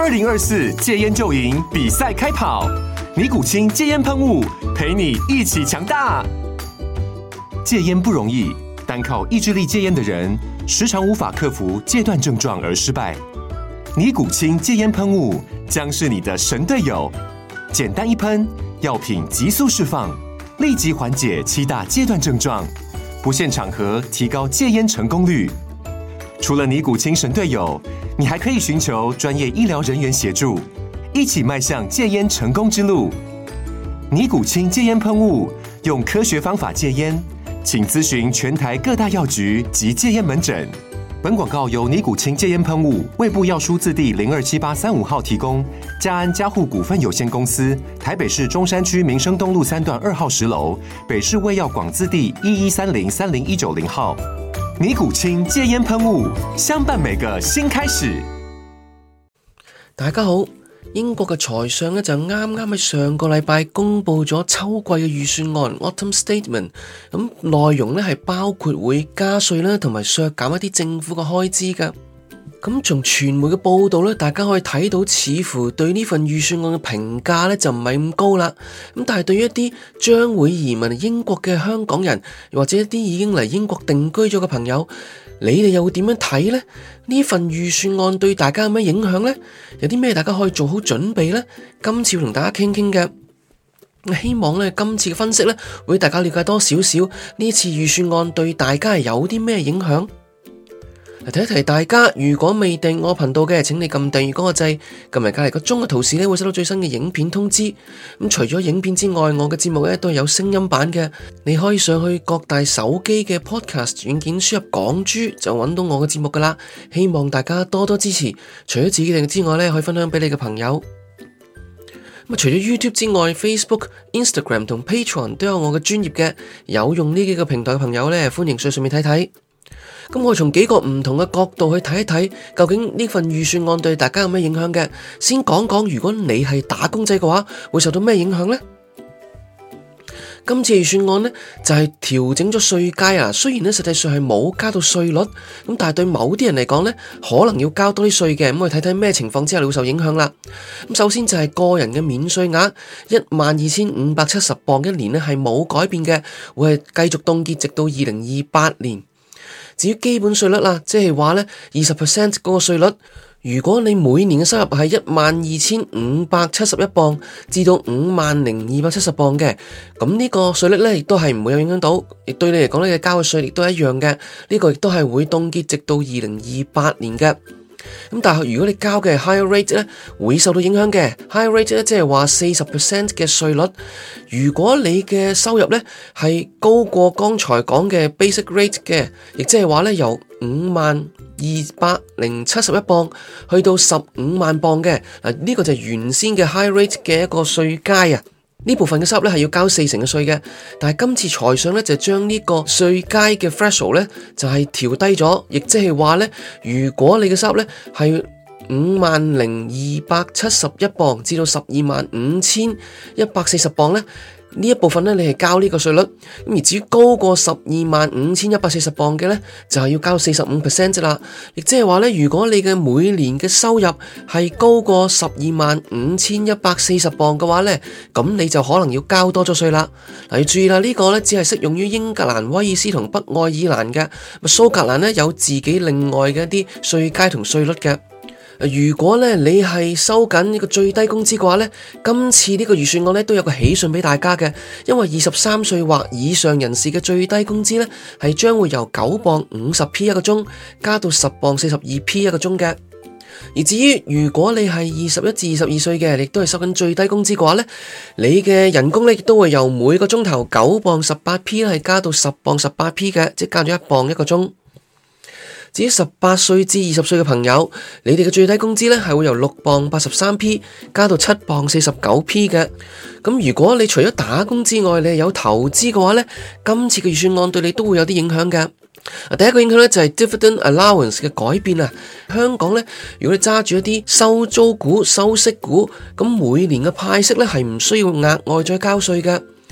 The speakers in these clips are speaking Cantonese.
2024戒菸就贏比賽開跑，尼古清戒菸噴霧陪你一起強大。戒菸不容易，單靠意志力戒菸的人，時常無法克服戒斷症狀而失敗。尼古清戒菸噴霧將是你的神隊友，簡單一噴，藥品急速釋放，立即緩解7大戒斷症狀，不限場合提高戒菸成功率。除了尼古清神隊友，你還可以尋求專業醫療人員協助，一起邁向戒菸成功之路。尼古清戒菸噴霧，用科學方法戒菸，請諮詢全台各大藥局及戒菸門診。本廣告由尼古清戒菸噴霧衛部藥書字第027835號提供，嘉安嘉護股份有限公司台北市中山區民生東路3段2號10樓，北市衛藥廣字第1130-30190號。尼古清戒菸噴霧，相伴每個新開始。 大家好，英國嘅財相呢就啱啱喺上個禮拜公布咗秋季嘅預算案 Autumn Statement， 咁內容呢係包括會加稅啦，同埋削減一啲政府嘅開支噶。咁從傳媒嘅報道呢，大家可以睇到似乎對呢份預算案嘅評價呢就唔係咁高啦。咁但係對於一啲將會移民英國嘅香港人，或者一啲已經嚟英國定居咗嘅朋友，你哋又會點樣睇呢？呢份預算案對大家有咩影響呢？有啲咩大家可以做好準備呢？今次要同大家傾傾嘅，希望呢今次嘅分析呢會大家了解多少少呢次預算案對大家係有啲咩影響。提一提大家，如果未訂我頻道嘅，請你撳訂閱嗰個掣，撳埋隔籬個鐘嘅圖示咧，會收到最新嘅影片通知。咁除咗影片之外，我嘅節目咧都係有聲音版嘅，你可以上去各大手機嘅 Podcast 軟件輸入港豬就揾到我嘅節目噶啦。希望大家多多支持，除咗自己訂之外咧，可以分享俾你嘅朋友。咁除咗 YouTube 之外 ，Facebook、Instagram 同 Patreon 都有我嘅專頁嘅，有用呢幾個平台嘅朋友咧，歡迎上面睇睇。咁我從幾個唔同嘅角度去睇一睇，究竟呢份預算案對大家有咩影響嘅？先講講，如果你係打工仔嘅話，會受到咩影響呢？今次預算案呢，就係調整咗稅階啊，雖然呢實際上係冇加到稅率，咁但係對某啲人嚟講呢，可能要交多啲稅嘅。咁我哋睇睇咩情況之下你會受影響啦。咁首先就係個人嘅免稅額12,570磅一年呢係冇改變嘅，會係繼續凍結直到2028年。至於基本稅率啦，即係話呢 20% 嗰個稅率，如果你每年嘅收入係12,571磅至到50,270磅嘅，咁呢個稅率呢亦都係唔會有影響到，亦對你嚟講呢，嘅交嘅稅亦都係一樣嘅，呢個亦都係會凍結直到2028年嘅。咁但係如果你交嘅 higher rate 咧，會受到影響嘅。higher rate 咧，即係話40% 嘅稅率。如果你嘅收入咧係高過剛才講嘅 basic rate 嘅，亦即係話咧由52,071磅去到15萬磅嘅，呢個就係原先嘅 high rate 嘅一個稅階啊。呢部分嘅收入咧係要交40%嘅稅嘅，但係今次財相咧就將呢個稅階嘅 threshold 咧就係調低咗，亦即係話咧，如果你嘅收入咧係50,271磅至到12,540磅咧，呢一部分咧你係交呢個稅率，咁而至於高過12,540磅嘅咧，就係要交45% 啫啦。亦即係話咧，如果你嘅每年嘅收入係高過12,540磅嘅話咧，咁你就可能要交多咗稅啦。嗱，要注意啦，呢個咧只係適用於英格蘭、威爾斯同北愛爾蘭嘅，蘇格蘭咧有自己另外嘅一啲稅階同稅率嘅。如果咧你係收緊呢個最低工資嘅話咧，今次呢個預算案咧都有個喜訊俾大家嘅，因為23歲或以上人士嘅最低工資咧係將會由9磅50p 一個鐘加到10磅42p 一個鐘嘅。而至於如果你係21至22歲嘅，亦都係收緊最低工資嘅話咧，你嘅人工咧亦都會由每個鐘頭9磅18p 係加到10磅18p 嘅，即係加咗1磅一個鐘。至於18歲至20歲嘅朋友，你哋嘅最低工資咧係會由6磅83p 加到7磅49p 嘅。咁如果你除咗打工之外，你係有投資嘅話咧，今次嘅預算案對你都會有啲影響嘅。第一個影響咧就係 dividend allowance 嘅改變啊。香港咧，如果你揸住一啲收租股、收息股，咁每年嘅派息咧係唔需要額外再交稅嘅。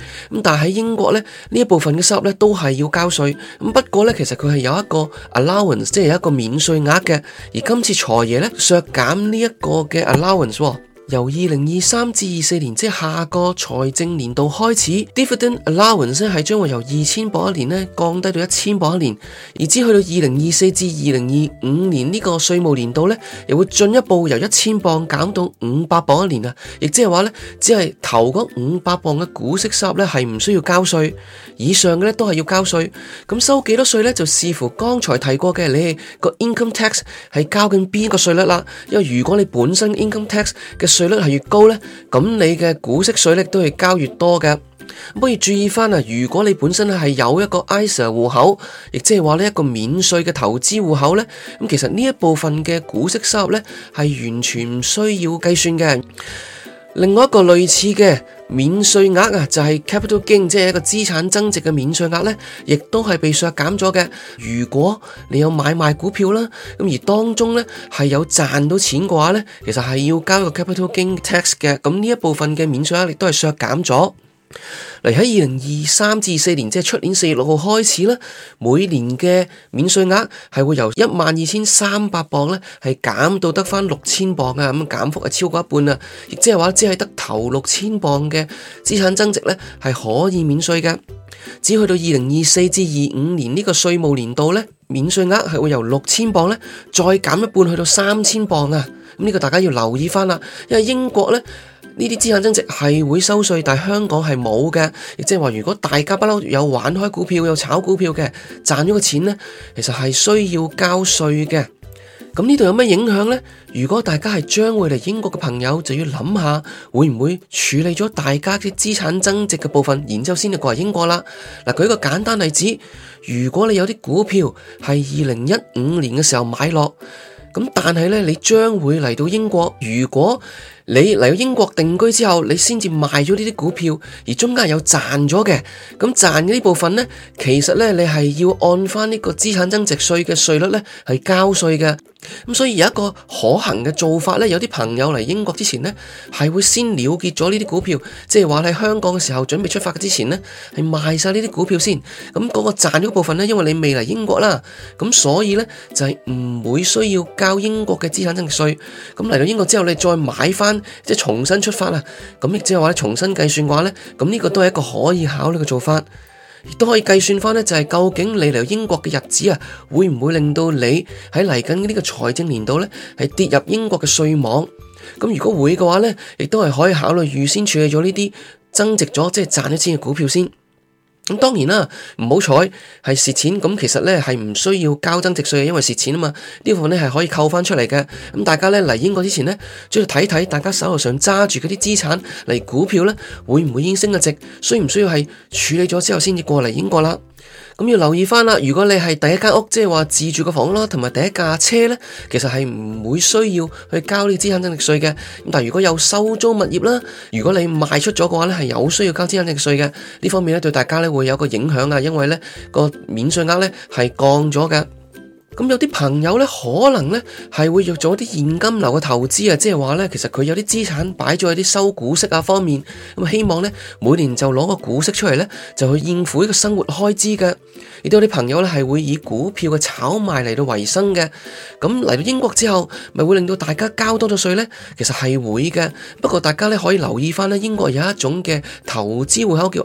咁但係喺英國咧，呢一部分嘅收入咧都係要交稅。咁不過咧，其實佢係有一個 allowance， 即係有一個免稅額嘅。而今次財爺咧削減呢一個嘅 allowance，由2023至24年，即係下個財政年度開始 ，dividend allowance 係將會由2000磅一年咧降低到1000磅一年，而至去到2024至2025年呢個稅務年度咧，又會進一步由1000磅減到500磅一年啊！亦即係話咧，只係頭嗰500磅嘅股息收入咧係唔需要交稅，以上嘅咧都係要交稅。咁收幾多稅咧，就視乎剛才提過嘅你個 income tax 係交緊邊個稅率啦。因為如果你本身 income tax 嘅稅率係越高呢，咁你嘅股息稅率都係交越多嘅。不過要注意翻啊，如果你本身係有一個 ISA 戶口，亦即係話呢一個免稅嘅投資戶口呢，咁其實呢一部分嘅股息收入呢係完全唔需要計算嘅。另外一個類似嘅免稅額啊，就係 capital gain， 即係一個資產增值嘅免稅額呢，亦都係被削減咗嘅。如果你有買賣股票啦，咁而當中呢係有賺到錢嘅話呢，其實係要交一個 capital gain tax 嘅。咁呢一部分嘅免稅額亦都係削減咗。嚟喺2023至24年，即係出年4月6號開始啦，每年嘅免稅額係會由12300磅咧，係減到得翻6000磅啊，咁減幅係超過一半啊，亦即係話只係得頭6000磅嘅資產增值咧係可以免稅嘅。只去到2024至25年呢個稅務年度咧，免稅額係會由6000磅咧再減一半去到3000磅啊，咁呢個大家要留意翻啦，因為英國咧呢啲資產增值係會收稅，但係香港係冇嘅，亦即係話如果大家不嬲有玩開股票、有炒股票嘅，賺咗個錢呢，其實係需要交稅嘅。咁呢度有咩影響呢？如果大家係將會嚟英國嘅朋友，就要諗下會唔會處理咗大家嘅資產增值嘅部分，然之後先至過嚟英國啦。嗱，舉一個簡單例子，如果你有啲股票係2015年嘅時候買落，咁但係呢，你將會嚟到英國，如果你嚟到英國定居之後，你先至賣咗呢啲股票，而中間有賺咗嘅，咁賺嘅呢部分呢，其實呢，你係要按翻呢個資產增值稅嘅稅率呢係交稅嘅。咁所以有一個可行嘅做法呢，有啲朋友嚟英國之前呢，係會先了結咗呢啲股票，即係話喺香港嘅時候準備出發之前呢，係賣晒呢啲股票先。咁嗰個賺咗部分呢，因為你未嚟英國啦，咁所以呢，就係唔會需要交英國嘅資產增值稅。咁嚟到英國之後，你再買翻，即係重新出發啦。咁亦即係話重新計算嘅話呢，咁呢個都係一個可以考慮嘅做法。亦都可以計算翻呢，就係究竟你嚟英國嘅日子啊，會唔會令到你喺嚟緊呢個財政年度呢係跌入英國嘅稅網？咁如果會嘅話呢，亦都係可以考慮預先處理咗呢啲增值咗即係賺咗錢嘅股票先。咁當然啦，唔好彩係蝕錢，咁其實咧係唔需要交增值稅嘅，因為蝕錢啊嘛，呢部分咧係可以扣翻出嚟嘅。咁大家咧嚟英國之前咧，主要睇睇大家手頭上揸住嗰啲資產嚟股票咧，會唔會已經升咗值？需唔需要係處理咗之後先至過嚟英國啦？咁要留意翻啦，如果你係第一間屋，即係話自住嘅房屋啦，同埋第一架車咧，其實係唔會需要去交呢個資產增值稅嘅。咁但係如果有收租物業啦，如果你賣出咗嘅話咧，係有需要交資產增值稅嘅。呢方面咧對大家咧會有個影響啊，因為咧個免稅額咧係降咗嘅。咁有啲朋友咧，可能咧係會做一啲現金流嘅投資啊，即係話咧，其實佢有啲資產擺咗喺啲收股息啊方面，咁希望咧每年就攞個股息出嚟咧，就去應付呢個生活開支嘅。亦都有啲朋友咧係會以股票嘅炒賣嚟到維生嘅。咁嚟到英國之後，咪會令到大家交多咗稅咧？其實係會嘅，不過大家咧可以留意翻咧，英國有一種嘅投資戶口叫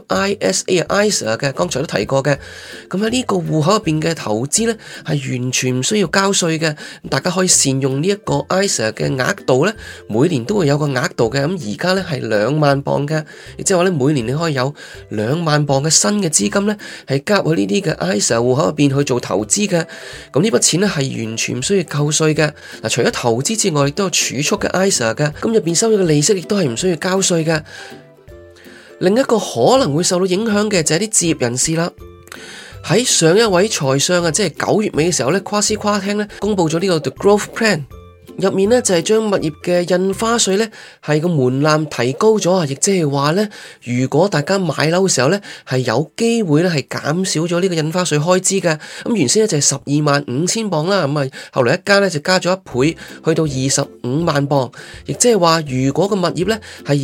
ISA 嘅，剛才都提過嘅。咁喺呢個戶口入邊嘅投資咧，係完全唔需要交稅嘅，大家可以善用呢一個 ISA 嘅額度咧，每年都會有個額度嘅。咁而家咧係2萬磅嘅，亦即係話咧每年你可以有2萬磅嘅新嘅資金咧，係加入去呢啲嘅 ISA 戶口入邊去做投資嘅。咁呢筆錢咧係完全唔需要扣稅嘅。嗱，除咗投資之外，亦都有儲蓄嘅 ISA 嘅，咁入邊收咗嘅利息亦都係唔需要交稅嘅。另一個可能會受到影響嘅就係啲置業人士啦。喺上一位財相啊，即係9月尾嘅時候咧，誇斯誇聽咧公布咗呢個 The Growth Plan， 入面咧就係將物業嘅印花稅咧係個門檻提高咗啊，亦即係話咧，如果大家買樓嘅時候咧係有機會咧係減少咗呢個印花稅開支嘅。咁原先咧就係125000磅啦，咁啊後來一加咧就加咗1倍，去到25萬磅，亦即係話如果個物業咧係以15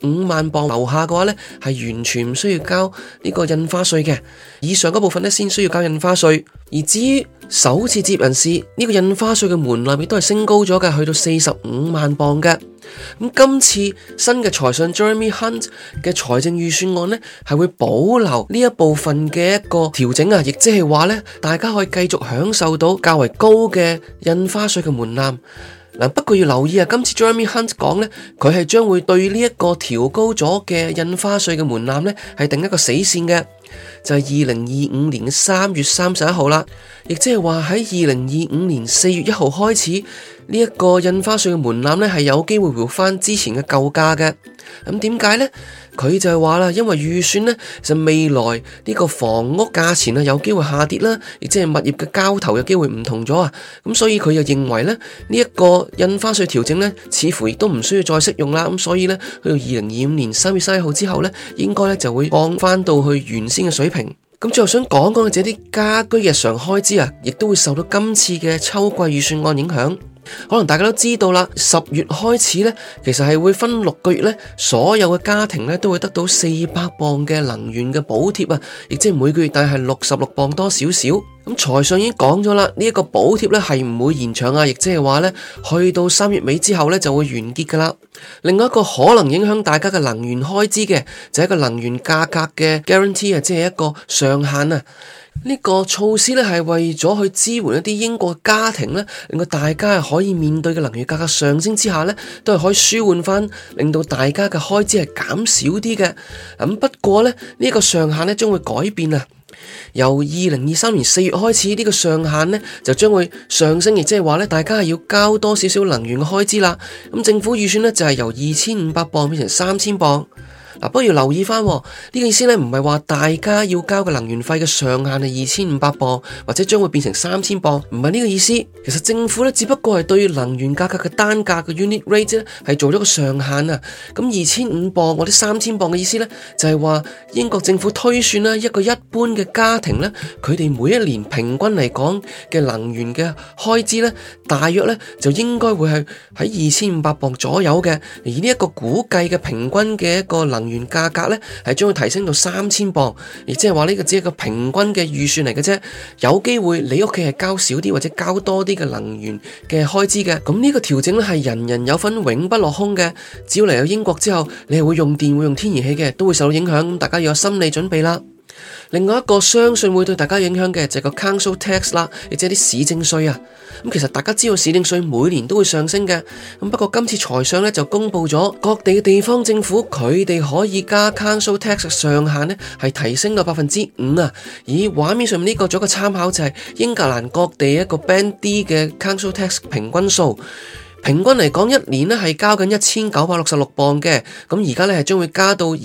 5萬磅樓下嘅話呢，係完全唔需要交呢個印花稅嘅，以上嗰部分呢，先需要交印花稅。而至於首次置業人士呢個印花稅嘅門檻亦都係升高咗嘅，去到45萬磅嘅。咁今次新嘅財相 Jeremy Hunt 嘅財政預算案呢，係會保留呢一部分嘅一個調整啊，亦即係話呢，大家可以繼續享受到較為高嘅印花稅嘅門檻。不過要留意啊，今次 Jeremy Hunt 講呢，佢係將會對呢一個調高咗嘅印花稅嘅門檻呢，係定一個死線嘅，就係2025年3月31號啦，亦即係話喺2025年4月1號開始，呢一個印花稅嘅門檻呢，係有機會回翻之前嘅舊價嘅。咁點解呢？佢就係話啦，因為預算呢，就未來呢個房屋價錢啊有機會下跌啦，亦即係物業嘅交投有機會唔同咗啊，咁所以佢就認為咧呢一個印花稅調整呢，似乎亦都唔需要再適用啦，咁所以呢，去到2025年3月31號之後呢，應該呢就會降翻到去原先嘅水平。咁最後想講講嘅就係啲家居日常開支啊，亦都會受到今次嘅秋季預算案影響。可能大家都知道啦，10月開始呢，其實係會分6個月呢，所有嘅家庭呢都會得到400磅嘅能源嘅補貼啊，亦即係每個月大概係66磅多少少。咁財相已經講咗啦，呢一個補貼呢係唔會延長啊，亦即係話呢，去到3月尾之後呢就會完結噶啦。另外一個可能影響大家嘅能源開支嘅，就係一個能源價格嘅 guarantee 啊，即係一個上限啊。呢個措施呢係為咗去支援一啲英國嘅家庭呢，令到大家係可以面對嘅能源價格上升之下呢，都係可以舒緩翻，令到大家嘅開支係減少啲嘅。不過呢，呢個上限呢將會改變啊，由2023年4月開始，呢個上限呢就將會上升，亦即係話呢，大家係要交多少少能源嘅開支啦。咁政府預算呢就係由2500磅變成3000磅。不過要留意翻呢個意思呢，唔係話大家要交嘅能源費嘅上限係2500磅，或者將會變成3000磅，唔係呢個意思。其實政府呢，只不過係對能源價格嘅單價嘅 unit rate 呢係做咗個上限啊。咁2500磅或者3000磅嘅意思呢，就係話英國政府推算啦，一個一般嘅家庭呢，佢哋每一年平均嚟講嘅能源嘅開支呢，大約呢就應該會係喺2500磅左右嘅。而呢一個估計嘅平均嘅一個能源價格呢，係將會提升到3000磅，亦即係話呢個只係一個平均嘅預算嚟嘅啫。有機會你屋企係交少啲或者交多啲嘅能源嘅開支嘅。咁呢個調整呢係人人有份，永不落空嘅。只要嚟到英國之後，你係會用電會用天然氣嘅，都會受到影響。大家要有心理準備啦。另外一個相信會對大家影響嘅就係個 Council Tax 啦，亦即係啲市政稅啊。其實大家知道市政稅每年都會上升嘅。不過今次財相呢就公布咗各地嘅地方政府佢哋可以加 Council Tax 嘅上限呢係提升到5%啊。而畫面上面呢個做一個參考就係英格蘭各地一個 Band D 嘅 Council Tax 平均數。平均嚟講，一年咧係交緊1966磅嘅，咁而家咧係將會加到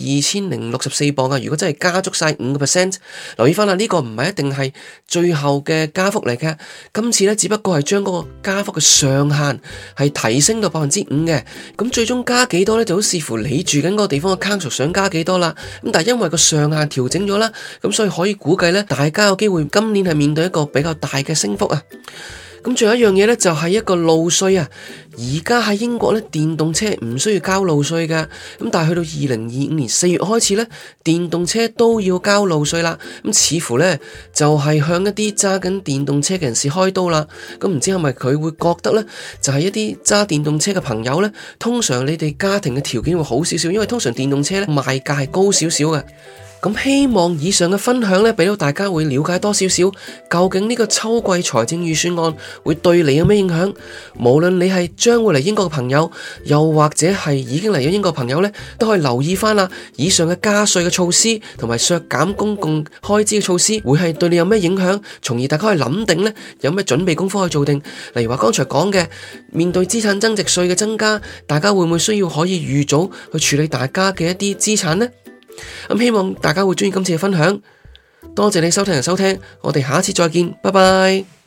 2064磅啊！如果真係加足晒5%，留意翻啦，呢個唔係一定係最後嘅加幅嚟嘅。今次咧只不過係將嗰個加幅嘅上限係提升到5%嘅，咁最終加幾多咧就好視乎你住緊嗰個地方嘅 council 想加幾多啦。咁但係因為個上限調整咗啦，咁所以可以估計咧，大家有機會今年係面對一個比較大嘅升幅啊！咁仲有一樣嘢咧，就係一個路稅啊！而家喺英國咧，電動車唔需要交路稅嘅，咁但係去到2025年4月開始咧，電動車都要交路稅啦。咁似乎咧就係向一啲揸緊電動車嘅人士開刀啦。咁唔知係咪佢會覺得咧，就係一啲揸電動車嘅朋友咧，通常你哋家庭嘅條件會好少少，因為通常電動車咧賣價係高少少嘅。咁希望以上嘅分享呢，俾到大家會了解多少少，究竟呢個秋季財政預算案會對你有咩影響？無論你係將會嚟英國嘅朋友，又或者係已經嚟咗英國嘅朋友呢，都可以留意翻啦。以上嘅加稅嘅措施同埋削減公共開支嘅措施，會係對你有咩影響？從而大家可以諗定呢，有咩準備功夫去做定。例如話剛才講嘅，面對資產增值稅嘅增加，大家會唔會需要可以預早去處理大家嘅一啲資產呢？希望大家會鍾意今次嘅分享，多謝你收聽，我哋下次再見，拜拜。